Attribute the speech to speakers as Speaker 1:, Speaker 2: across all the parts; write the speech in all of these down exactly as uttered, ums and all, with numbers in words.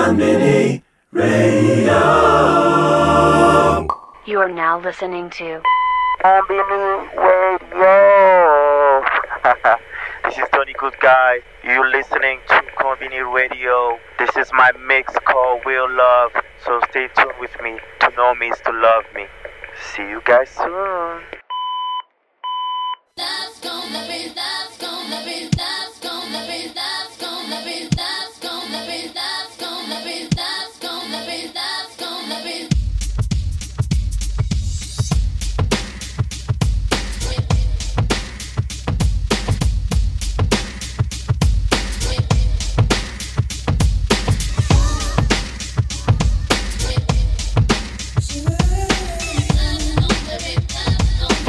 Speaker 1: Konbini Radio.
Speaker 2: You are now listening to
Speaker 3: Konbini Radio. This is Tony Good Guy. You're listening to Konbini Radio. This is my mix called Will Love. So stay tuned with me. To know me is to love me. See you guys soon.
Speaker 4: That's gonna be, that's gonna be, that's gonna be, that's gonna be, that's gonna be, that's gonna be, that's gonna be, that's gonna be. That's gonna be, that's gonna be.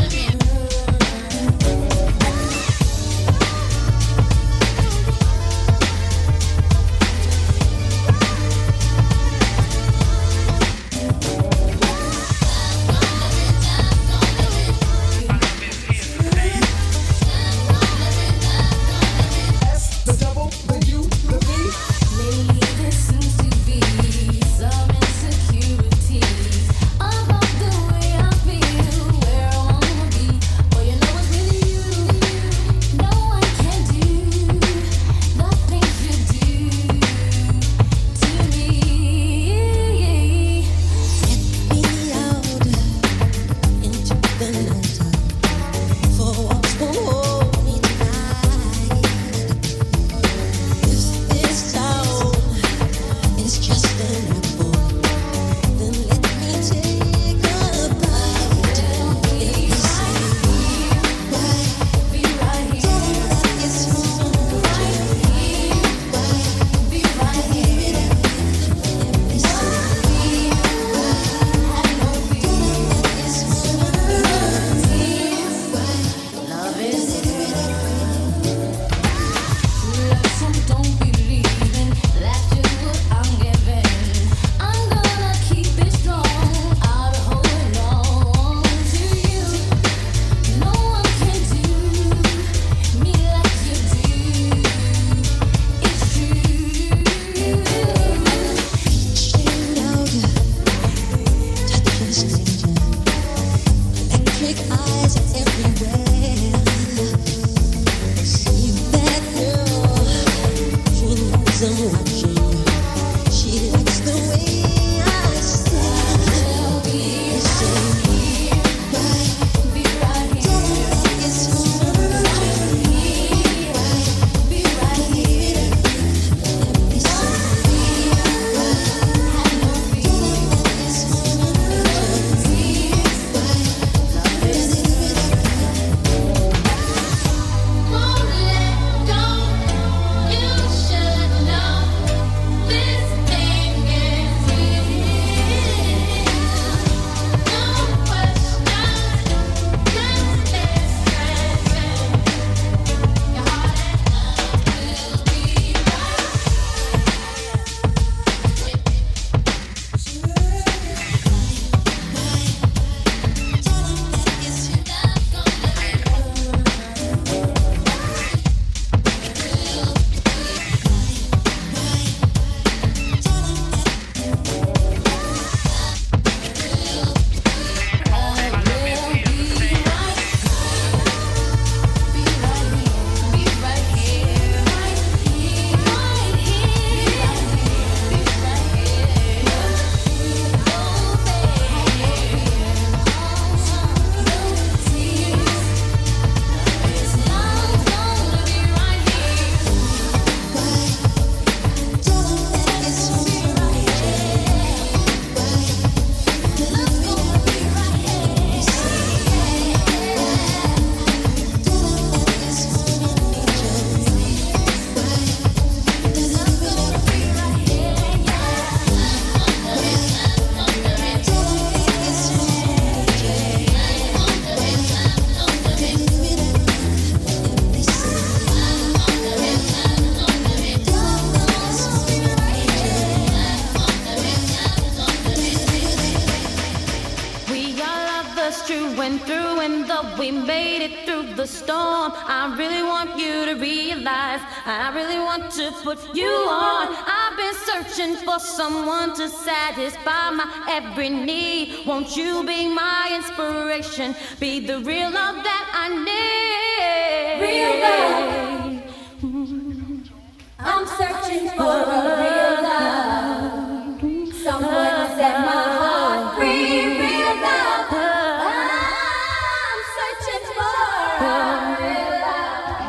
Speaker 5: went through and though we made it through the storm, I really want you to realize I really want to put you on. I've been searching for someone to satisfy my every need. Won't you be my inspiration? Be the real love that I need.
Speaker 4: Real love. I'm searching for a real love. Someone to set my heart free. Real love. I'm searching for a real love.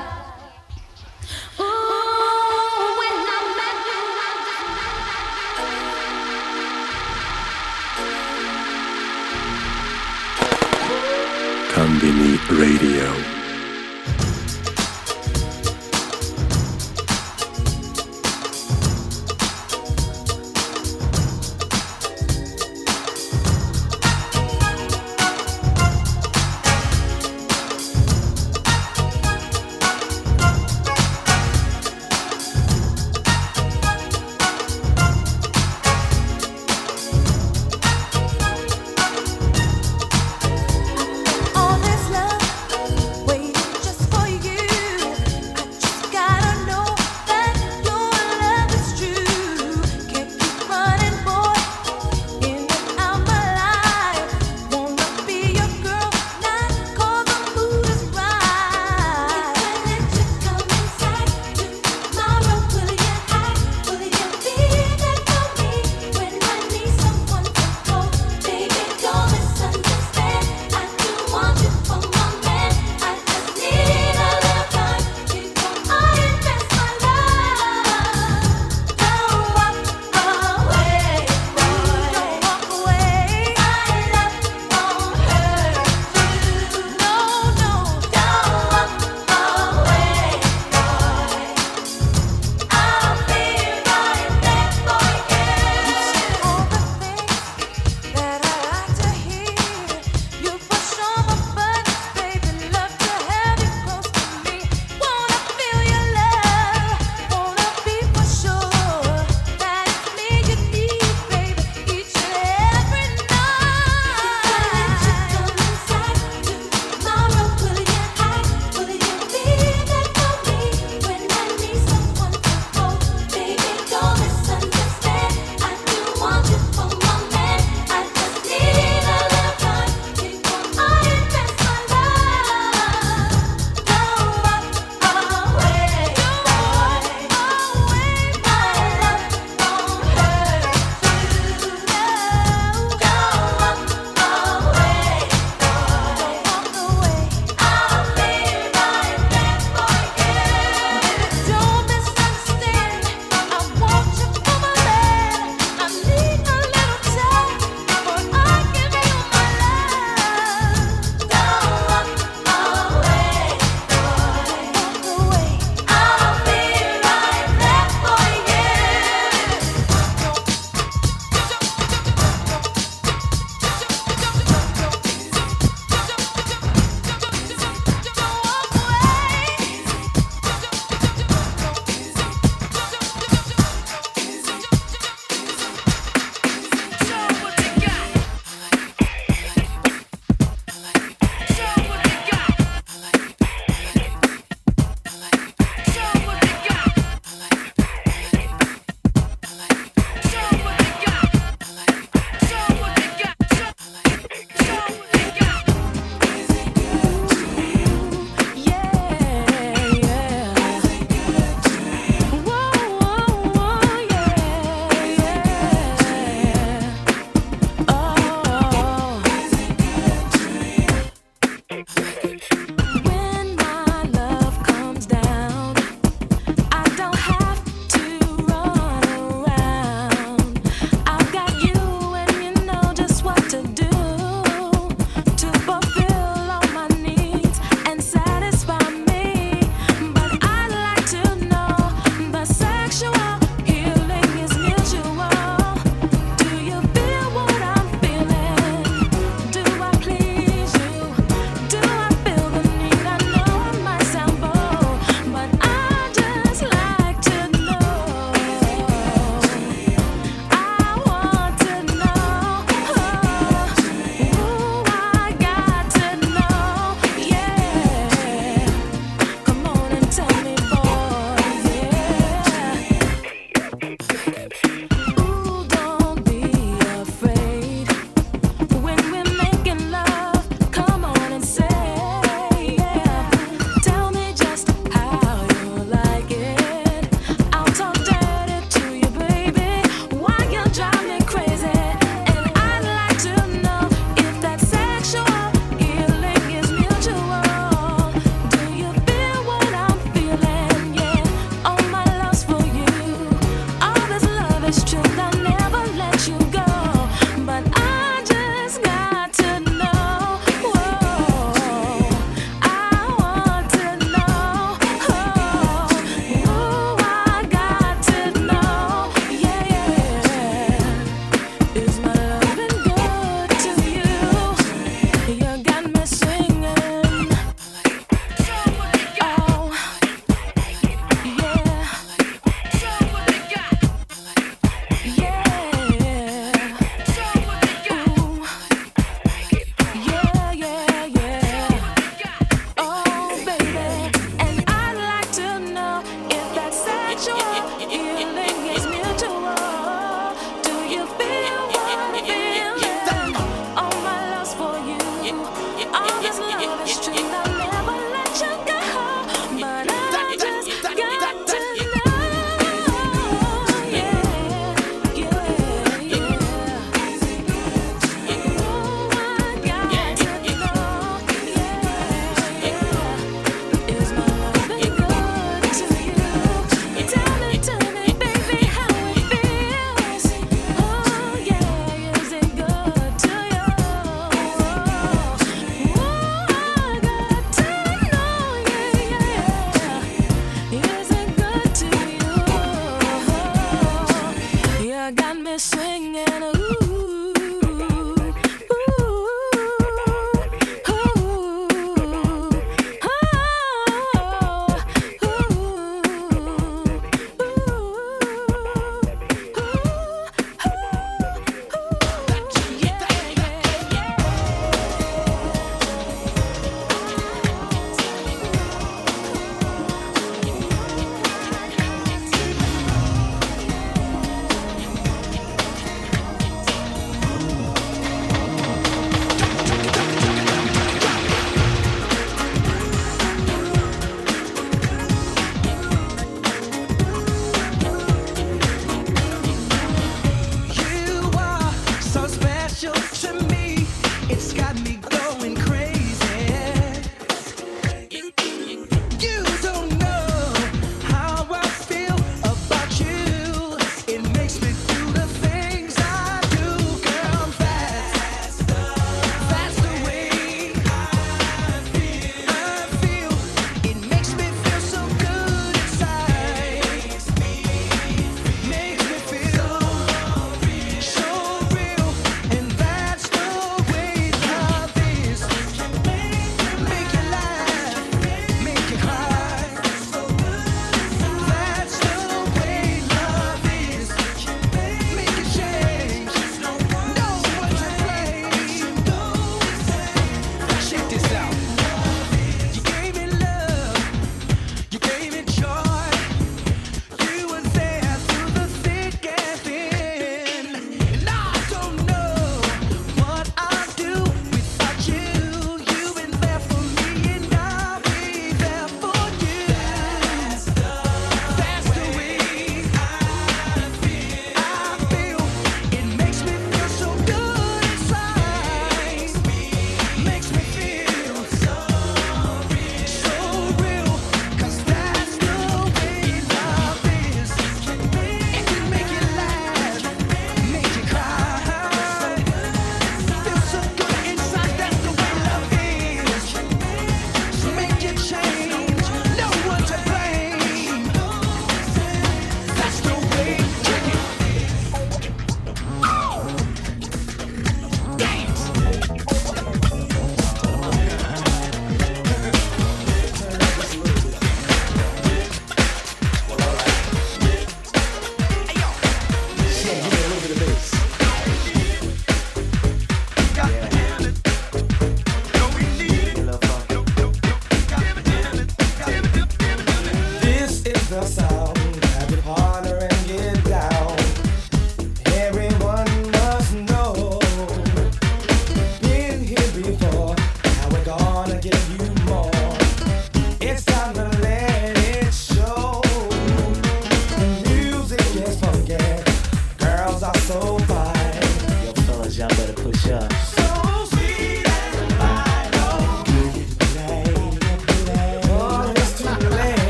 Speaker 5: Ooh, when I met you, I just
Speaker 1: Konbini Radio.
Speaker 4: All this love
Speaker 6: me swinging. Ooh.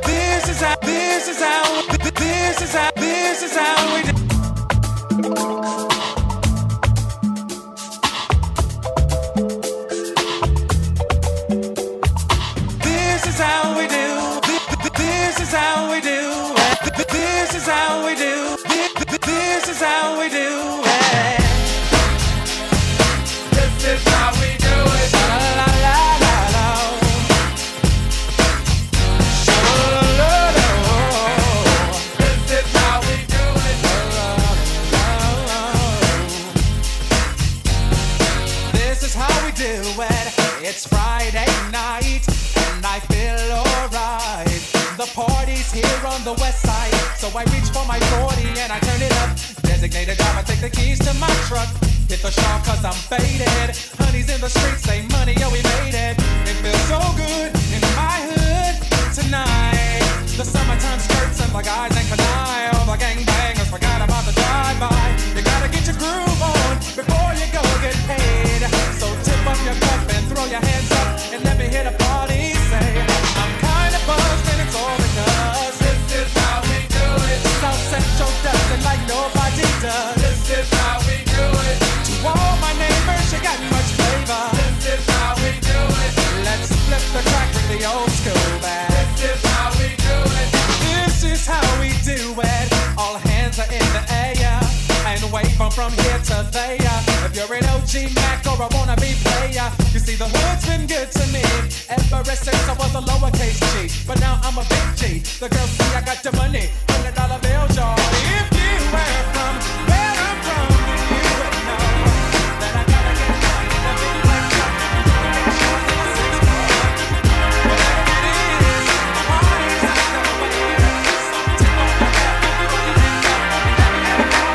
Speaker 7: This is how, this is how, this is how, this is how we do. This is how we do. This is how we do. This is how we do. This is how we do. This is how we do it. La la la la la. This is how we do it. This is how we do it. It's Friday night and I feel alright. The party's here on the west side, so I reach for my forty and I turn it up. Designated driver, take the keys to my truck. Hit the shop cause I'm faded. Honey's in the streets, say money, yo, we made it. It feels so good in my hood tonight. The summertime skirts and the guys ain't canine. All the gangbangers forgot about the drive-by. You gotta get your groove on before you go get paid. So tip up your cup and throw your hands up and let me hear the party say, I'm kinda buzzed and it's all because this is how we do it. South Central does it like nobody does. This is how we do it. To all my neighbors, you got much flavor. This is how we do it. Let's flip the track with the old school band. This is how we do it. This is how we do it. All hands are in the air and wave from from here to there. If you're an O G Mac or a wannabe player, you see the hood's been good to me ever since I was a lowercase G. But now I'm a big G. The girls see I got the money, hundred dollar bills, y'all. If you were from where I'm from, you would know that I gotta get money in a big black truck. Whatever it is, the party's not gonna wait. So tip on your hat and throw your hands up and let me have a party.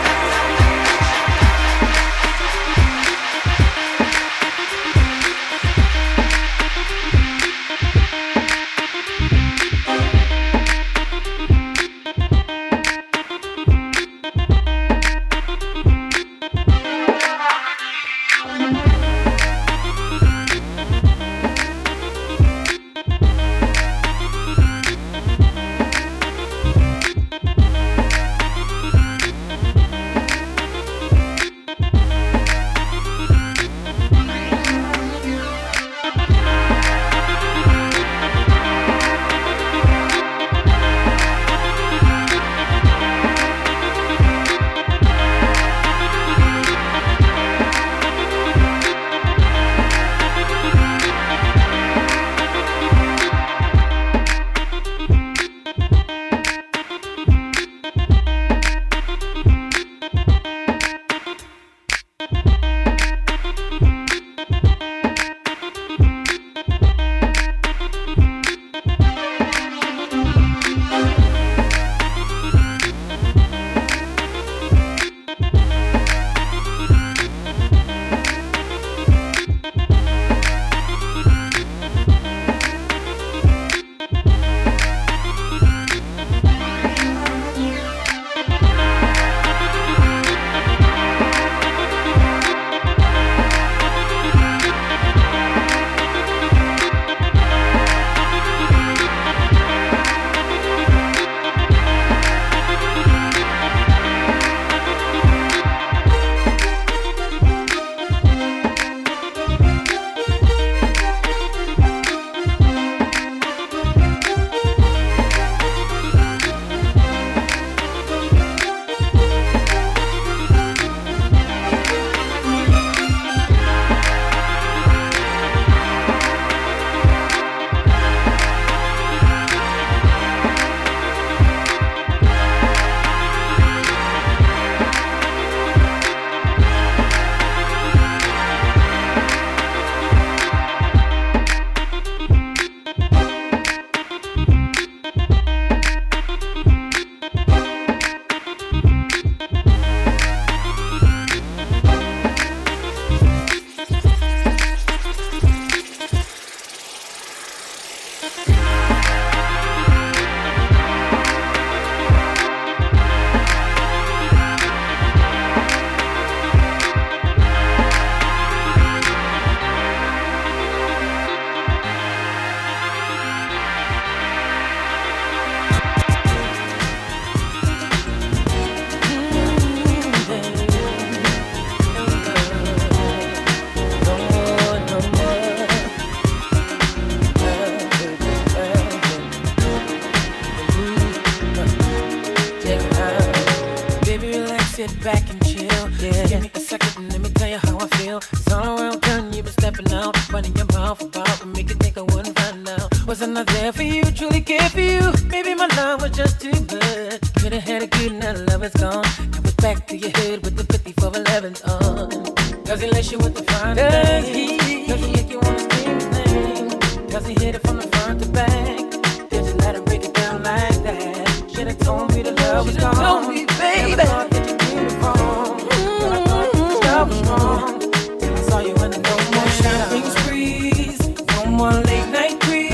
Speaker 8: stepping out, running your mouth about to make you think I wouldn't find out. Was I not there for you, truly care for you? Maybe my love was just too much. Could've had a good night, love is gone. Now it's back to your head with the fifty-four elevens on. Does he lace you with the fine thing? Does he make you wanna scream the thing? Does he hit it from the front to back? Did you let him break it down like that? Should've told me the love was gone. Told me, baby. Never thought that you did me wrong. But I thought this love was wrong. Till I saw you in the no more shopping sprees, no more late night creeps,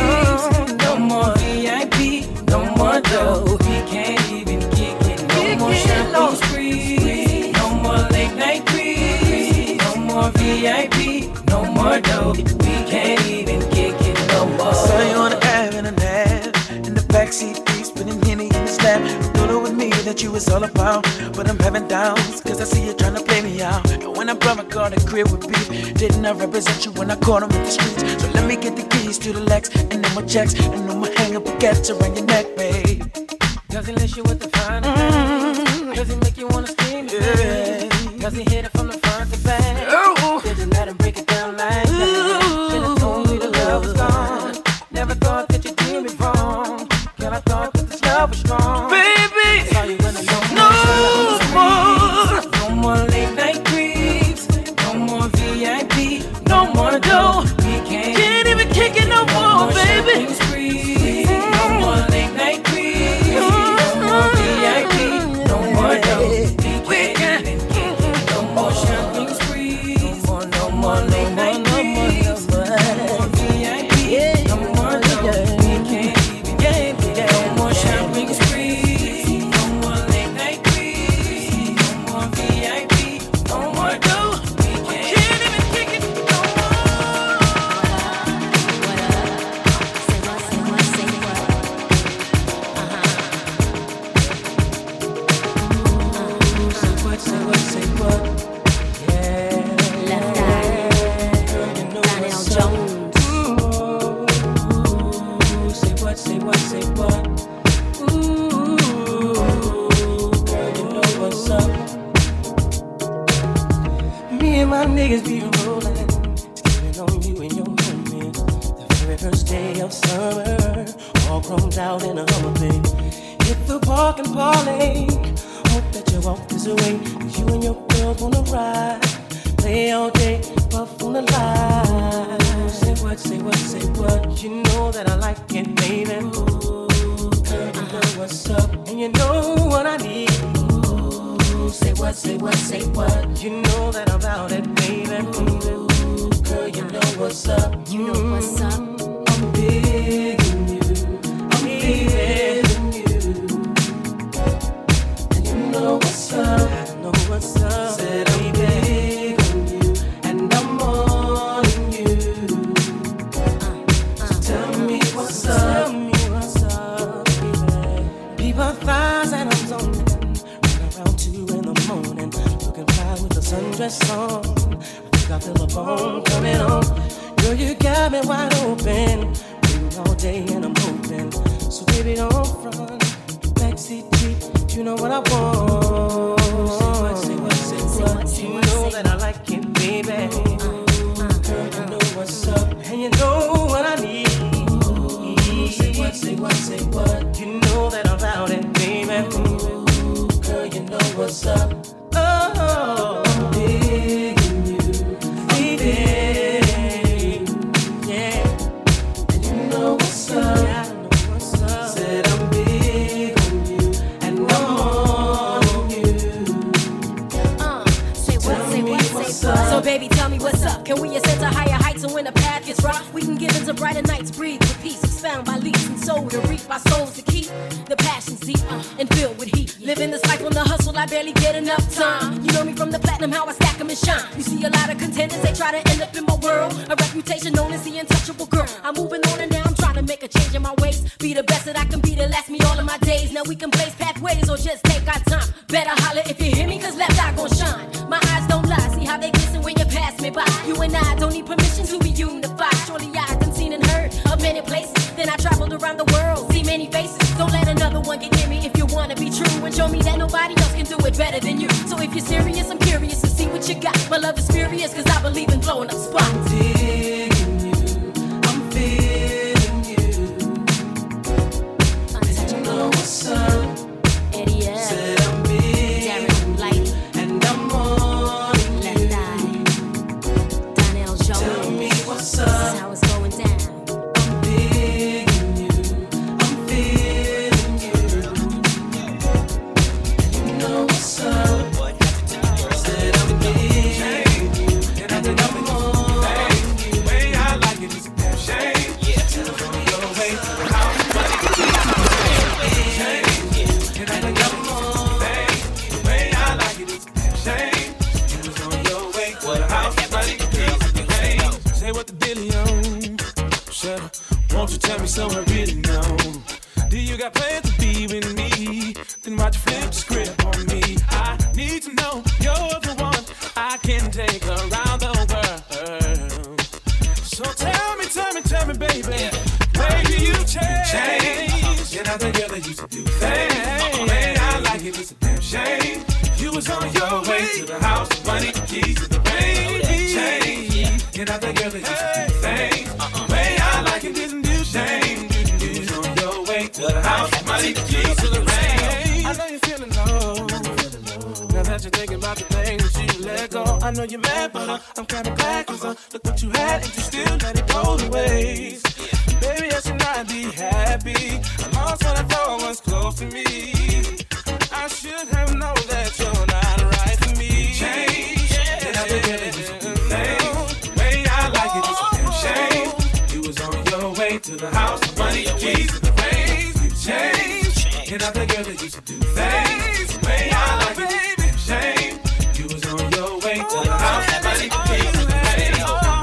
Speaker 8: no more V I P, no more dough. We can't even kick it. No more shopping sprees, no more late night creeps, no more V I P, no more dough. We can't even kick it no more. I saw you on the app and a nap in the backseat, spinning Henny in the snap. Thought it was me that you was all about, but I'm having doubts, cause I see you trying to play me out. And when I brought my car to crib with beef, didn't I represent you when I caught him in the streets? So let me get the keys to the Lex, and then my checks, and then my hang up baguettes around your neck, babe. Does he lace you with the fine mm-hmm. Does he make you wanna scream? Yeah. Does he hit it from the front to back? Ooh. Did you let him break it down like that? Should've told me the love was gone. Never thought that you did me wrong. Girl, I thought that this love was strong. Baby, saw you in the no, no more, no more late night creeps, no more V I P, no more dough. We can't, can't even kick it no, no more, more baby. Sprees, mm-hmm. No more late night creeps, mm-hmm. No more V I P, no more dough. We can't even kick it no more shopping sprees, no more, no more late night creeps, no more V I P, no more dough. We can't even get it. No more shopping sprees, no more late night creeps, no more V I P, no more dough. We can't even kick it no more. Say what, say what, say what? Yeah.
Speaker 5: Left eye.
Speaker 8: Girl, you know
Speaker 5: Lionel
Speaker 8: what's up.
Speaker 5: Jones.
Speaker 8: Ooh, say what, say what, say what? Ooh, girl, you know what's up. Me and my niggas be rolling, stepping on you and your women. The very first day of summer, all grown out in a Hummer, baby. Hit the park and parlay. Hope that you walk this away, 'cause you and your girl wanna ride. Play all day, puff on the line. Say what, say what, say what? You know that I like it, baby. Ooh, girl, you know what's up, and you know what I need. Ooh, say what, say what, say what? You know that I'm about it, baby. Ooh, girl, you know what's up.
Speaker 5: You know what's up.
Speaker 8: I'm digging you. I'm feeling you. And you know what's up. I know what's up. Said I'm big on you, and I'm on you. So tell me what's up. Tell me what's up, baby. People thighs and I'm zoning. Run around two in the morning, looking fly with a sundress on. I think I feel a bone coming on. Girl, you got me wide open. Waiting all day and I'm hoping. So baby, don't run. Backseat Jeep, you know what I want. Say what, say what, say what. You know that I like it, baby. Girl, you know what's up, and you know what I need. Say what, say what, say what. You know that I'm about it, baby. Girl, you know what's up. Oh, I'm digging you. I'm digging you. Yeah. And you know what's up. Yeah, I know what's up. Said I'm big on you, and I'm on you.
Speaker 5: Uh, say what,
Speaker 8: Tell
Speaker 5: say
Speaker 8: me
Speaker 5: what,
Speaker 8: what's
Speaker 5: say
Speaker 8: up.
Speaker 5: what.
Speaker 9: So baby, tell me what's up. Can we ascend to higher heights, and when the path gets rough, we can give into brighter nights, breathe with peace, expound by leaps and soul to reap our souls to keep the passions deep uh, and filled with heat. Living this life on the hustle, I barely get enough time. You know me from the platinum, how I stack 'em and shine. You see a lot of contenders, they try to end up in my world. A reputation known as the untouchable girl. I'm moving on and now I'm trying to make a change in my ways. Be the best that I can be to last me all of my days. Now we can blaze pathways or just take our time. Better holler if you hear me, cause left eye gon' shine. My eyes don't lie, see how they glisten when you pass me by. You and I don't need permission to be unified. Surely I done seen and heard of many places. Then I traveled around the world, see many faces. Don't let another one get near me if you wanna be true. And show me that nobody else can do it better than you. So if you're serious, I'm curious to see what you got. My love is furious cause I believe in blowing up spots.
Speaker 10: billion. Shut up, won't you tell me so I really know? Do you got plans to be with me? Then why'd you flip the script on me? I need to know you're the one I can take around the world. So tell me, tell me, tell me, baby, yeah. Baby, you change. change. You're not the girl that used to do things. Man, I like it, it's a damn shame. You was on your way to the house, money, keys to the rain. Change. You're not the girl that used to do things. Man, I like it, it's a shame. You was on your way to the house, money, keys to the rain. I know you're feeling low. Now that you're thinking about the things you let go, I know you're mad, but uh, I'm kinda glad, cause uh, look what you had and you still let it go to waste. Baby, I should not be happy. I lost what I thought was close to me. I should have known that you're not right for me. Change, yeah. And I think that it's a good thing. Way I like it, it's a damn shame. You was on your way to the house, money, keys to the rains. Change, and I'm the girl that used to do things. Way I like it, it's a damn shame. You was on your way to the house, money, keys to the rains.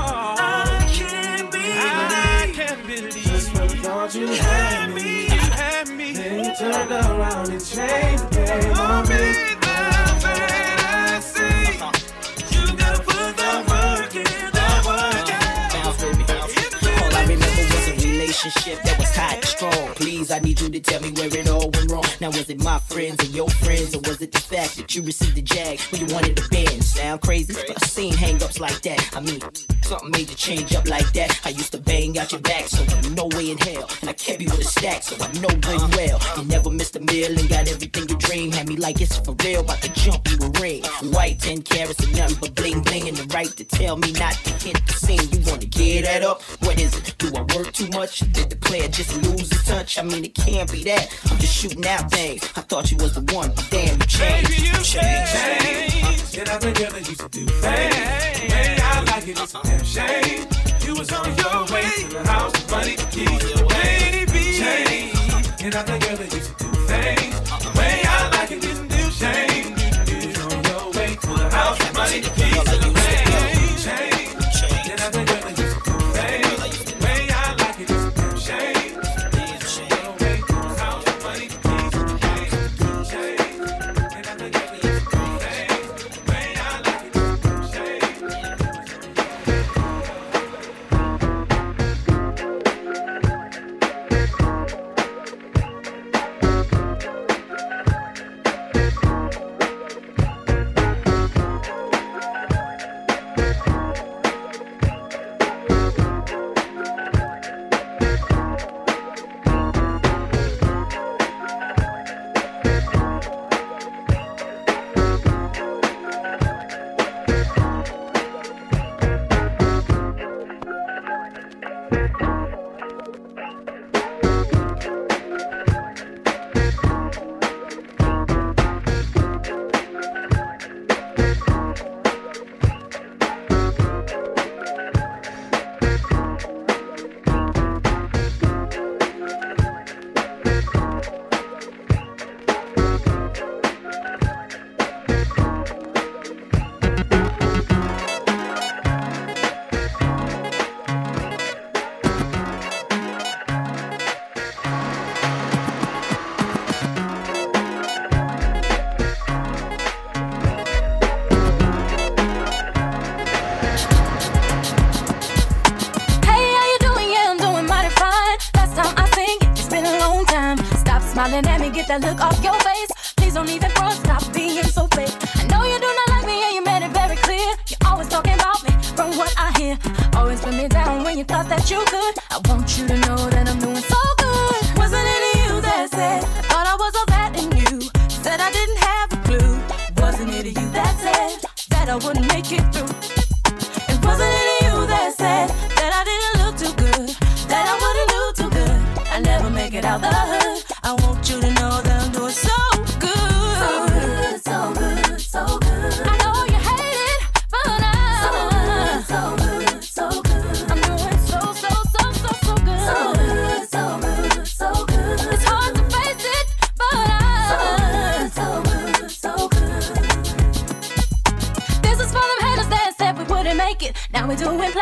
Speaker 10: I can't believe, I can't believe just when I thought you had me, you had me. Then you turned around and changed the game on me. The fantasy, you gotta put the work in, the work in.
Speaker 11: Bounce, baby, bounce. All I remember was a relationship that was tight and strong. Please, I need you to tell me where it all went wrong. Now, was it my friends and your friends, or was it the fact that you received the jag when you wanted to bend? Sound crazy? But I've seen hang-ups like that. I mean, something made you change up like that. I used to bang out your back, so no way in hell. And I kept you with a stack, so I know good and well. You never missed a meal and got everything you dream. Had me like it's for real, about to jump you a ring. White ten carats and nothing but bling bling. And the right to tell me not to hit the scene. You wanna get that up? What is it? Do I work too much? Did the player just lose his touch? I mean, it can't be that. I'm just shooting out things. I thought you was the one, but damn, you changed.
Speaker 10: Baby, you
Speaker 11: changed.
Speaker 10: changed. You're not the girl that used to do things. Way I like it, it's a damn shame. You was on your way to the house, money, keys, baby. Change. You're not the girl that used to do things. Way I like it, it's a damn shame. You was on your way to the house, money, keys, change. Change. You're not the girl that used to do things. Way I like it, it's a damn shame.
Speaker 5: Smiling at me, get that look off your face. Please don't even front, stop being so fake. I know you do not like me and you made it very clear. You're always talking about me from what I hear. Always put me down when you thought that you could. I want you to know that I'm doing so good. Wasn't it you that said, I thought I was all that in you? Said I didn't have a clue. Wasn't it you that said, that I wouldn't make it through? And wasn't it you that said, that I didn't look too good? That I wouldn't do too good? I never make it out the hood. I want you to know that I'm doing so good. So good, so good, so good. I know you hate it, but I'm so good, so good, so good. I'm doing so, so, so, so, so good. So good, so good, so good. It's hard to face it, but I'm so good, so good, so good. This is for them haters that said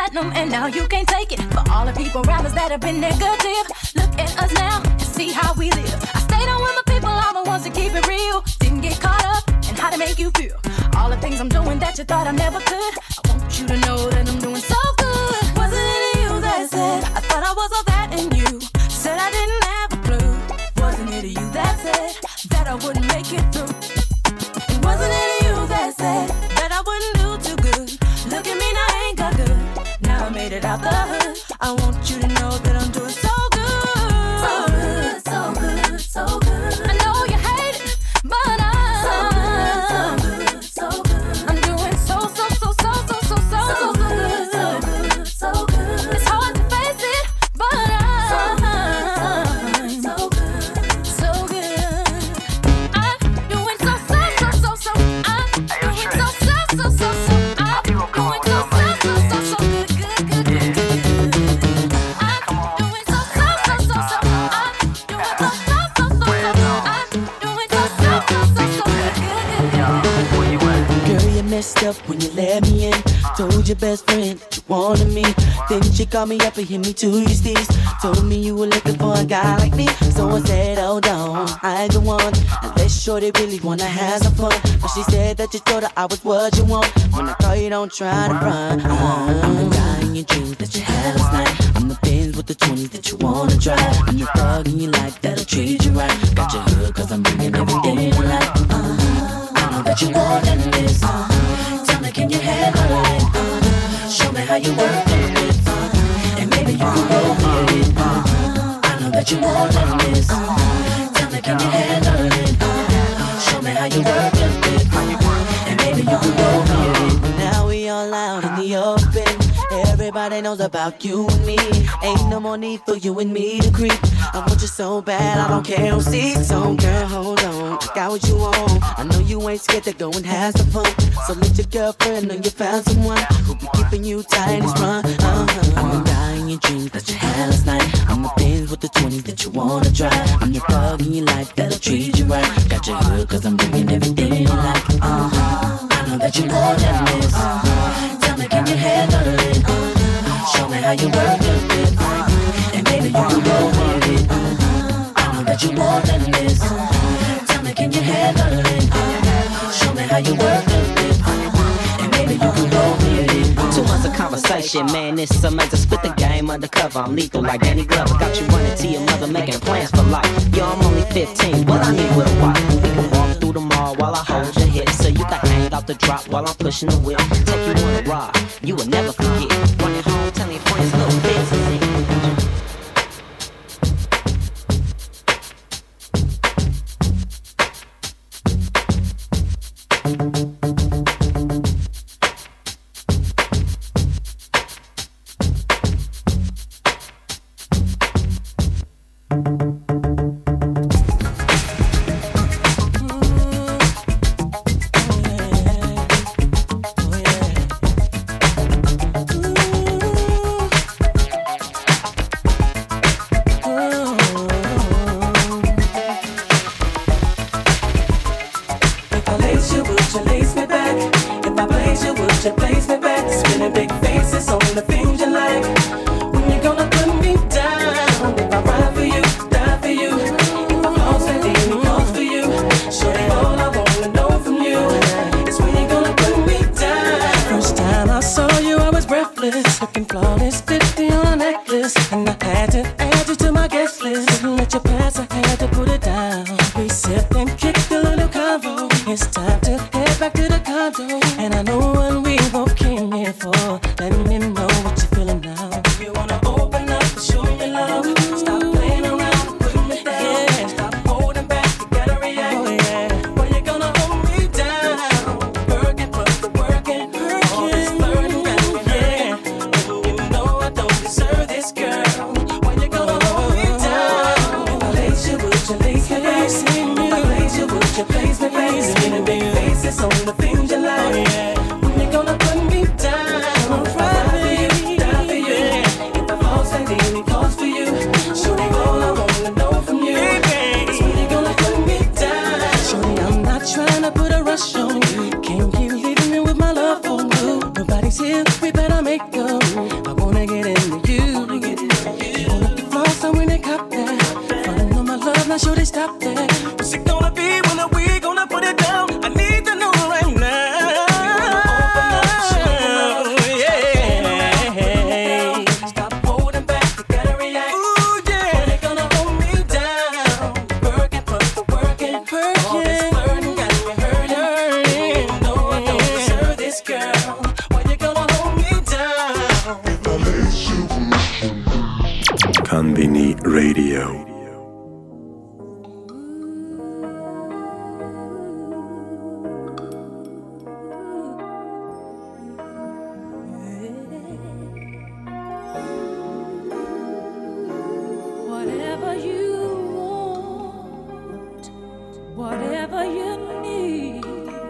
Speaker 9: platinum and now you can't take it. For all the people around us that have been negative, look at us now and see how we live. I stayed on with my people, all the ones that keep it real. Didn't get caught up in how to make you feel. All the things I'm doing that you thought I never could, I want you to know that I'm doing so good. Wasn't it you that said I thought I was all that in you? Said I didn't have a clue. Wasn't it you that said that I wouldn't make it through? And wasn't it you that said that I wouldn't do too good? Look at me now, I ain't got good. Now I made it out the hood. I want you to know that I'm doing so good. So good, so good, so good. I know you hate it, but I'm so good, so good, so good. I'm doing so, so, so, so, so, so, so, so good, so good, so good. It's hard to face it, but I'm so good, so good. I'm doing so, so, so, so, so. I'm doing so, so, so, so, so. I'm doing so, so, so, so, so good, good, good, good, good. I'm doing so, so, so, so, so. I'm doing so, so, so, so, so. I'm doing so, so, so, so, so good, good, good, good.
Speaker 12: Girl, you messed up when you let me in. Told your best friend that you wanted me. Then she called me up and hit me to your steez. Told me you were looking for a guy like me. So I said, hold on, I ain't the one. Unless shorty really wanna have some fun. But she said that you told her I was what you want. When I call you, don't try to run. uh, I'm the guy in your dreams that you had last night. I'm the Benz with the twenties that you wanna drive. I'm the thug in your life that'll treat you right. Got your hood cause I'm bringing everything to life. uh, I know that you more than this. uh, Tell me, can you handle it? uh, Show me how you work it. uh, And maybe you can roll with it. uh, I know that you more than this. uh, Tell me, can you handle it? uh, Show me how you work it. uh, And maybe you can roll with it. Now we all out in the open. Everybody knows about you and me. Ain't no more need for you and me to creep. I want you so bad, I don't care who sees. So girl, hold on, got what you want. I know you ain't scared to go and have some fun. So let your girlfriend know you found someone who be keeping you tight and sprung. uh-huh. I'm the guy in your dreams that you had last night. I'm the Benz with the twenties that you wanna drive. I'm the thug in your life that'll treat you right. Got your hood cause I'm bringing everything you like. uh-huh. I know that you're more than this. uh-huh. Tell me, can you handle it? uh, Show me how you work it. uh, And maybe you can go with it. uh, I know that you're more than this. uh, Tell me, can you handle it? uh, Show me how you work it. uh, And maybe you can go with it.
Speaker 11: Two months of conversation, man, it's amazing. Split the game undercover, I'm lethal like Danny Glover. Got you running to your mother, making plans for life. Yo, I'm only fifteen, what I need with a wife. We can walk through the mall while I hold your hip, so you can hang off the drop while I'm pushing the wheel. Take you on a ride, you will never forget. Running home, telling your friends, little bits is it.
Speaker 8: Girl
Speaker 1: Konbini Radio.
Speaker 6: Whatever you want, whatever you need,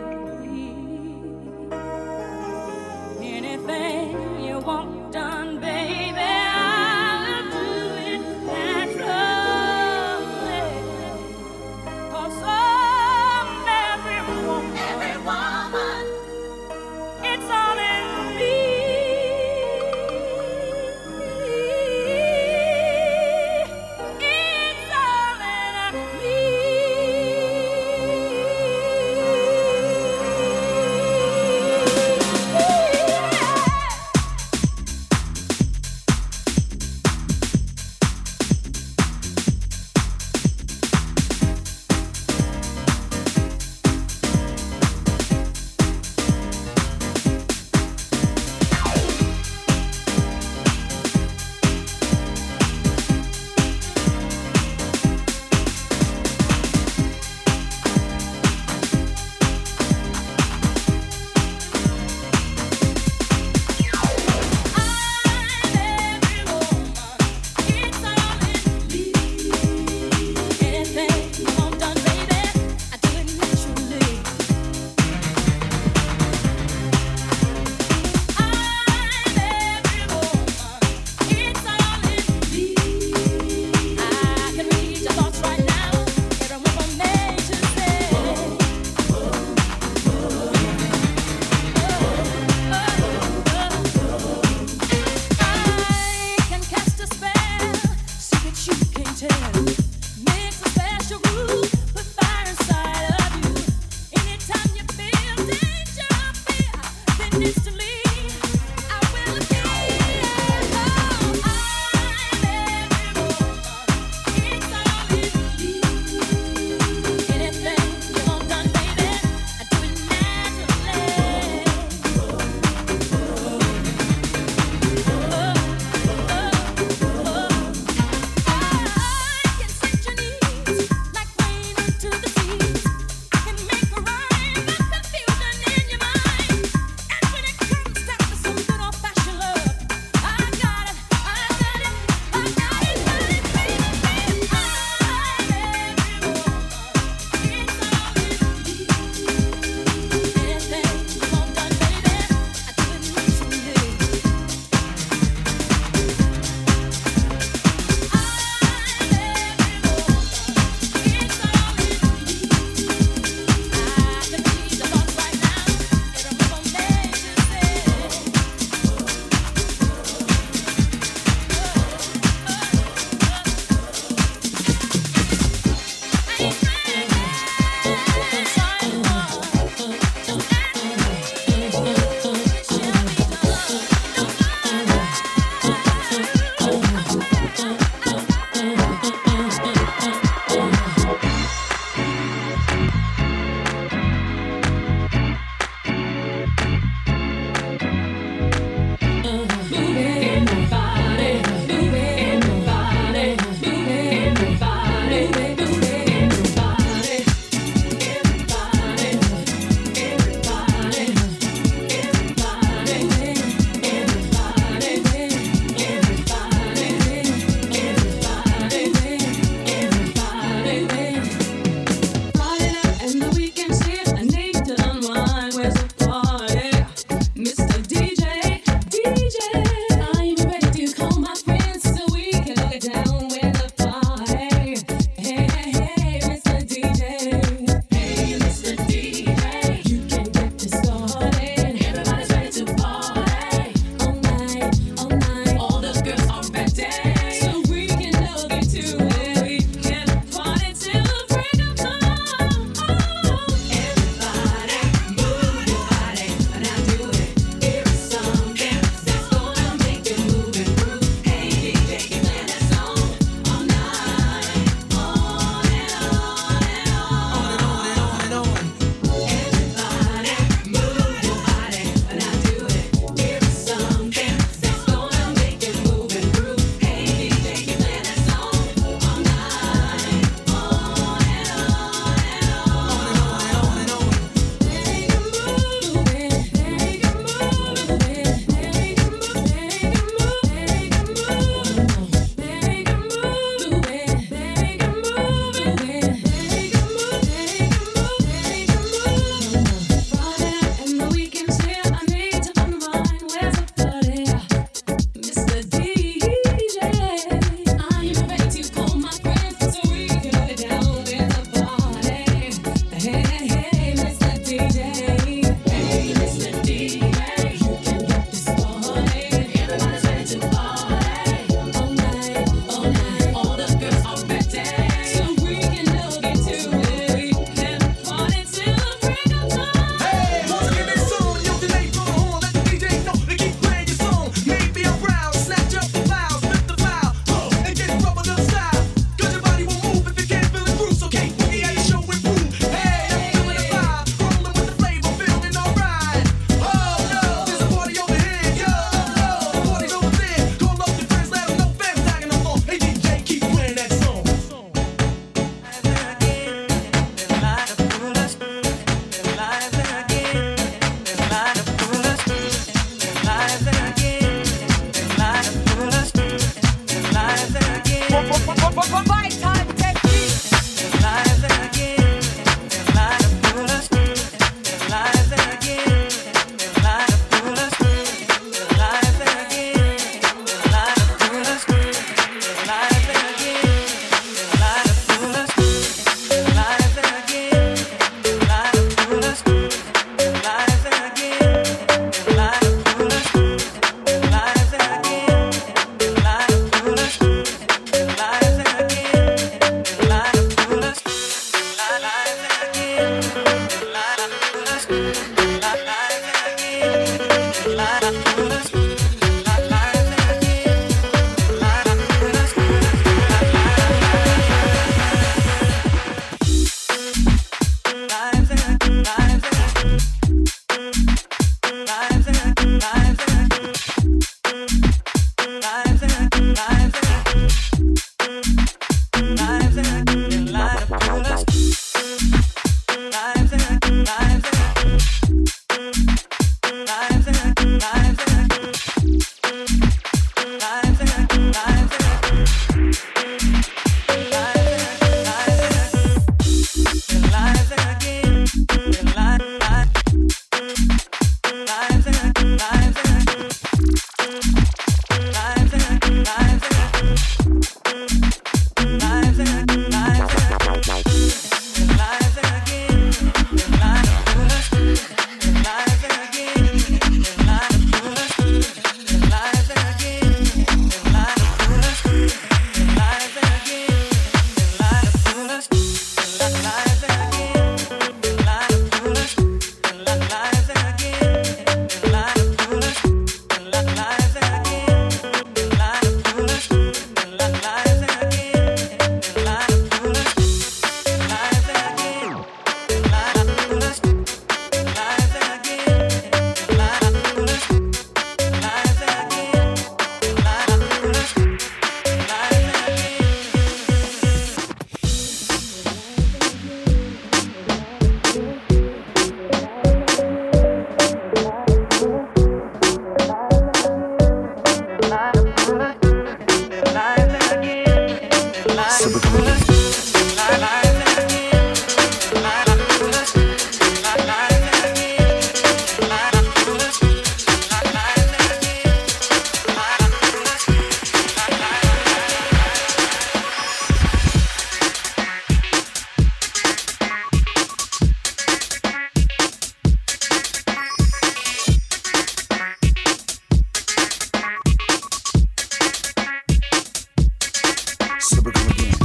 Speaker 6: anything you want done, baby, I'll do it naturally.
Speaker 13: So we come again.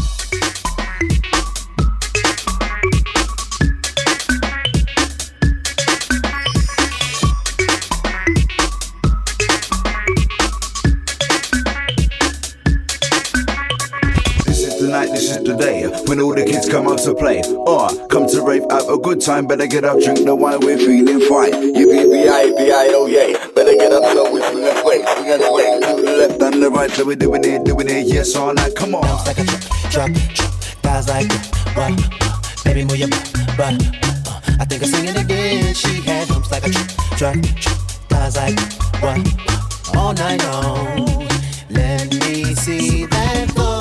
Speaker 14: Tonight, this is the day when all the kids come out to play. Or uh, come to rave, have a good time. Better get up, drink the wine, we're feeling fine. Yippee, B I B I O, yay. Better get up, so we swing and sway, swing and sway. To the left and the right, so we're doing it, doing it, yes all night. Come on.
Speaker 8: Bounce like a truck, truck, truck. Guys like what? Uh, baby, move your butt, butt. Uh, I think I'm singing again. She had bumps like a truck, truck, truck. Guys like what? Uh, all night long. Let me see that floor.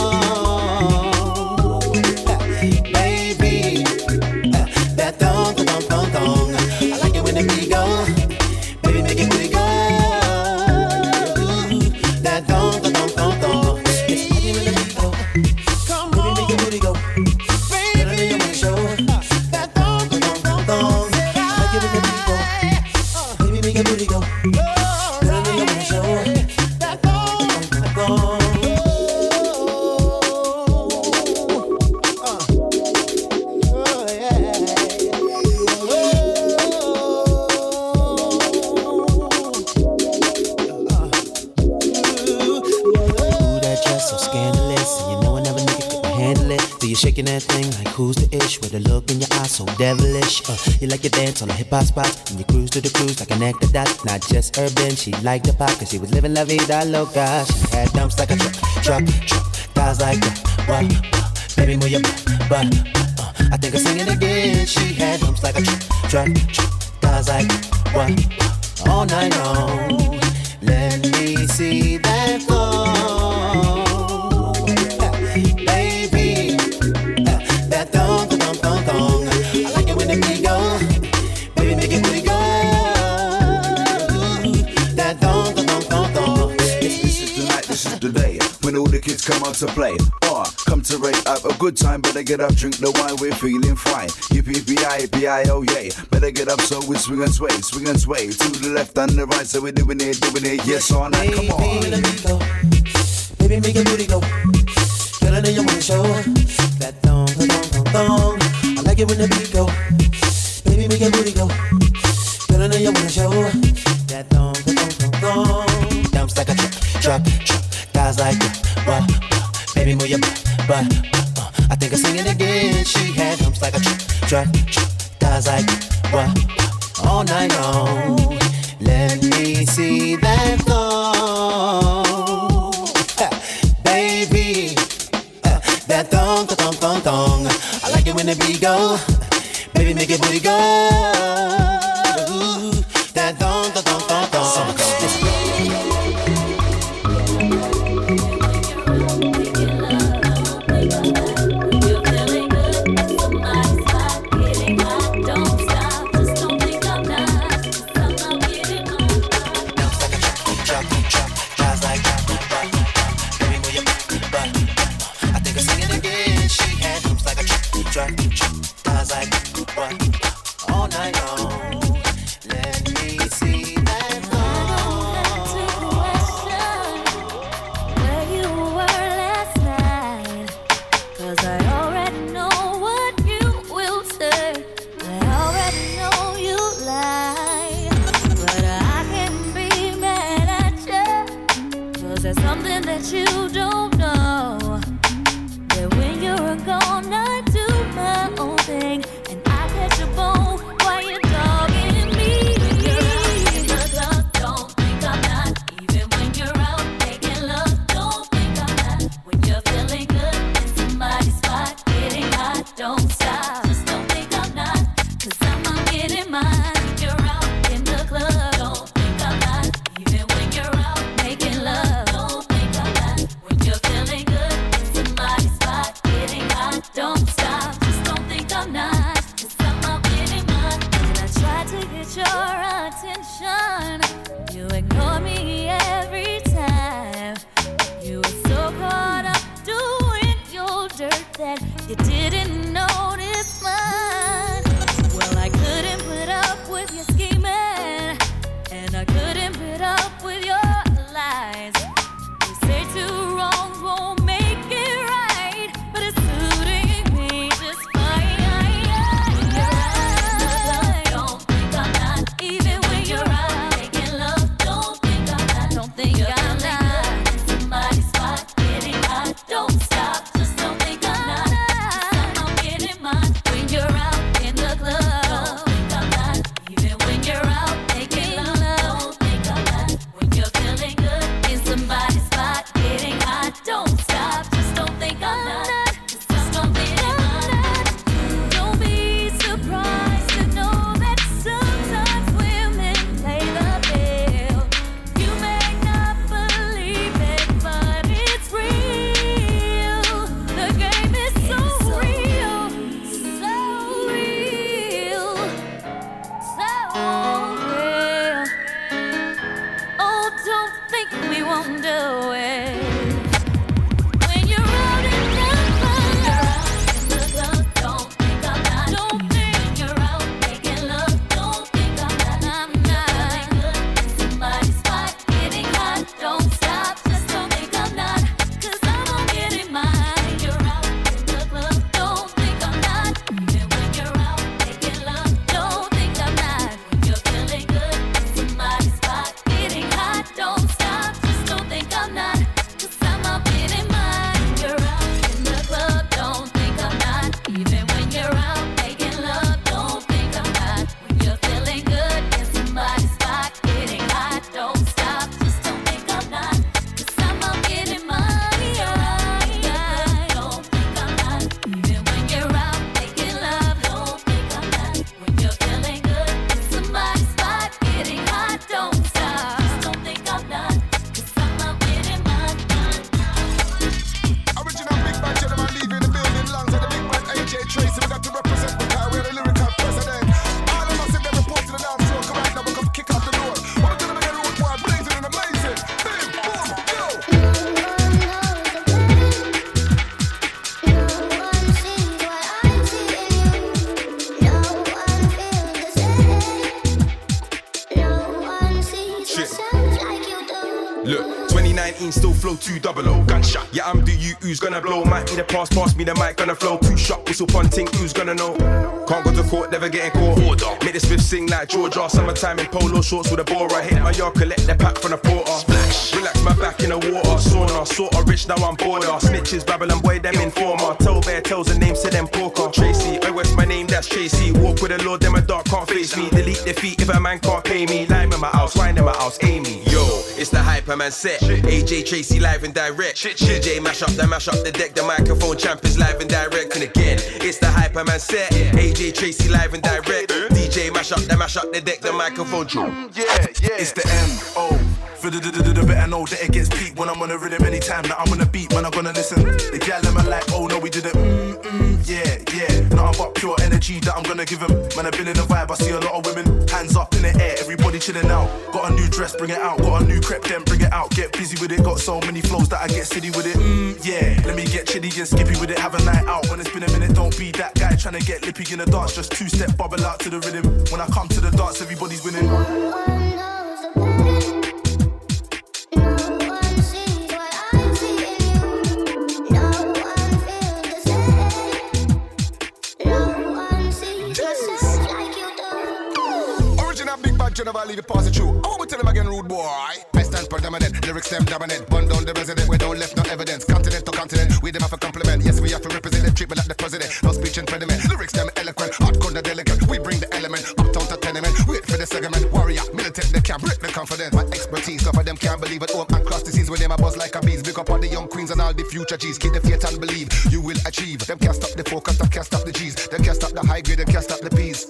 Speaker 8: Shaking that thing like who's the ish with a look in your eyes so devilish. Uh, you like to dance on the hip hop spots and you cruise to the cruise like an actor dot. Not just urban, she liked the pop cause she was living la vida loca. She had dumps like a truck, truck, truck. Thighs like that, what? Uh, baby move your butt, butt. Uh, I think I'm singing again. She had dumps like a truck, truck, truck. Thighs like that, what? Uh, all night long. Let me see that floor.
Speaker 14: Kids come out to play, or come to rave, have a good time. Better get up, drink the wine, we're feeling fine. Yippee, B I B I O, yay. Better get up, so we swing and sway, swing and sway. To the left and the right, so we're doing it, doing it, yes all night, come on.
Speaker 8: Baby, let me go. Baby, make your booty go. Girl, I know you wanna show that thong, thong, thong, thong. I like it when the beat go. Baby, make your booty go. Girl, I know you wanna show that thong, thong, thong, thong. Dumps like a truck, truck, truck. Guys like that. What? Uh, baby, move your butt, butt. Uh, I think I'm singing again. She had humps like a truck, truck, truck. Thighs like what? Uh, all night long. Let me see that floor, uh, baby. Uh, that thong, thong, thong, thong. I like it when the beat go. Baby, make it booty go. Ooh, that thong, thong, thong, thong, thong. All night long. Let me see that
Speaker 5: lies. You say two wrongs won't make it right.
Speaker 13: flow two double O. Gunshot. Yeah, I'm the you who's gonna blow. Might be the pass, pass me the mic, gonna flow. Two shot, whistle punting, who's gonna know? Can't go to court, never getting caught. Order. Make the Smith sing like Georgia. Summertime in polo shorts with a bora. Hit my yard, collect the pack from the porter. Splash. Relax my back in the water. Sauna, sorta rich, now I'm border. Snitches, Babylon boy, them informer. Tell bear tells the names to them poker. Tracy, oh what's my name, that's Tracy. Walk with the Lord, them a dark can't face me. Delete defeat if a man can't pay me. Lime in my house, wine in my house, Amy. Yo, it's the Hyperman set. A J Tracy live and direct. D J mash up, the mash up the deck. The microphone champ is live and direct. And again, it's the Hyperman set. A J Tracy live and direct. D J mash up, the mash up the deck. The microphone champ.
Speaker 10: Yeah, yeah. It's the M O. For the the the better know that it gets peaked when I'm on the rhythm anytime that I'm on the beat. Man, I'm gonna listen. The gal them are like, oh no, we did it. Mm mm, yeah, yeah. Nothing but pure energy that I'm gonna give them. Man, I've been in the vibe. I see a lot of women, hands up in the air, everybody chilling out. Got a new dress, bring it out. Got a new crepe, then bring it out. Get busy with it. Got so many flows that I get silly with it. Mm, yeah. Let me get chilly and skippy with it. Have a night out. When it's been a minute, don't be that guy trying to get lippy in the dance. Just two step bubble out to the rhythm. When I come to the dance, everybody's winning.
Speaker 15: Never leave it pass it through. I want to tell them again, rude boy. I stand predominant, lyrics them dominant. Bun down the resident, we don't left no evidence. Continent to continent, we them have a compliment. Yes, we have to represent them, treatment like the president. No speech impediment, lyrics them eloquent. Hardcore the delicate, we bring the element. Uptown to tenement, wait for the segment. Warrior, militant, they can't break the confidence. My expertise, cover them can't believe it. Home and cross the seas with them a buzz like a bees. Big up all the young queens and all the future G's. Keep the faith and believe, you will achieve. Them can't stop the focus, them can't stop the G's. Them can't stop the high grade, them can't stop the P's.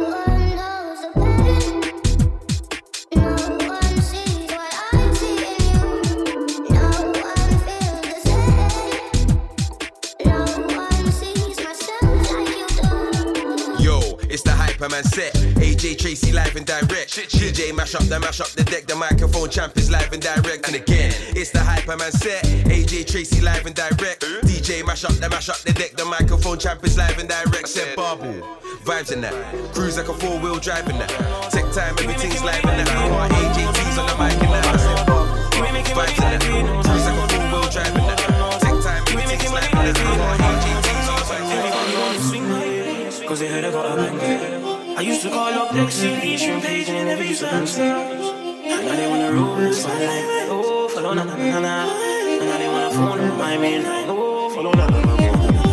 Speaker 13: It's the Hyperman set. A J Tracy live and direct. D J mash up the mash up the deck. The microphone champ is live and direct. And again, it's the Hyperman set. A J Tracy live and direct. D J mash up the mash up the deck. The microphone champ is live and direct. Said Barbie. Vibes in that. Cruise like a four wheel drive in that. Tech time, everything's live in that. A J T's on the mic in that. I said Barbie. Vibes in that. Cruise like a four wheel drive in that. Tech time, everything's live in that. A J T's on the mic in that.
Speaker 16: Cause they heard I got a bang. I used to call up Lexi, Eastern Page, and they never used to answer. And now they wanna roll this one like, oh, follow na na na na. And now they wanna phone on my main line, oh, follow na na na na.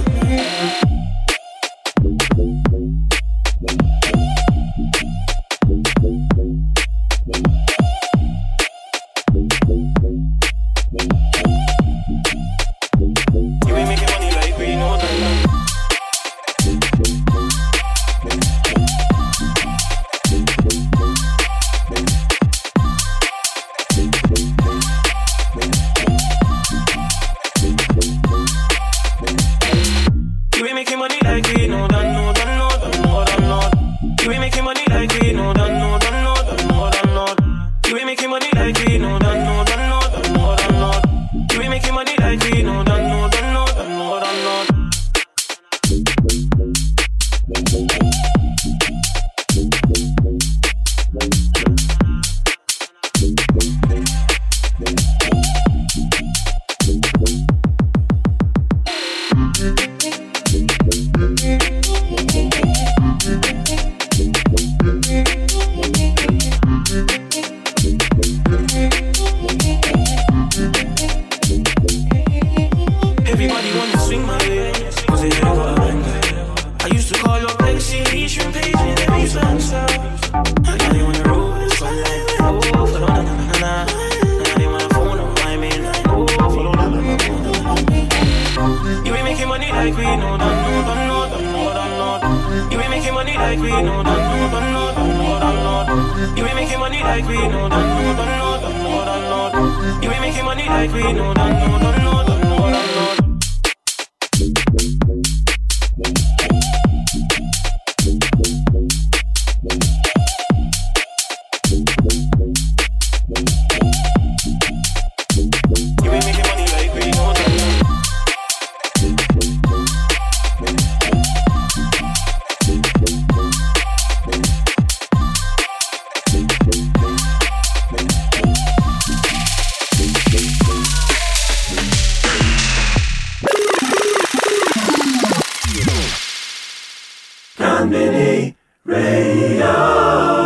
Speaker 16: You ain't making money like we know that.
Speaker 1: Conbini Radio.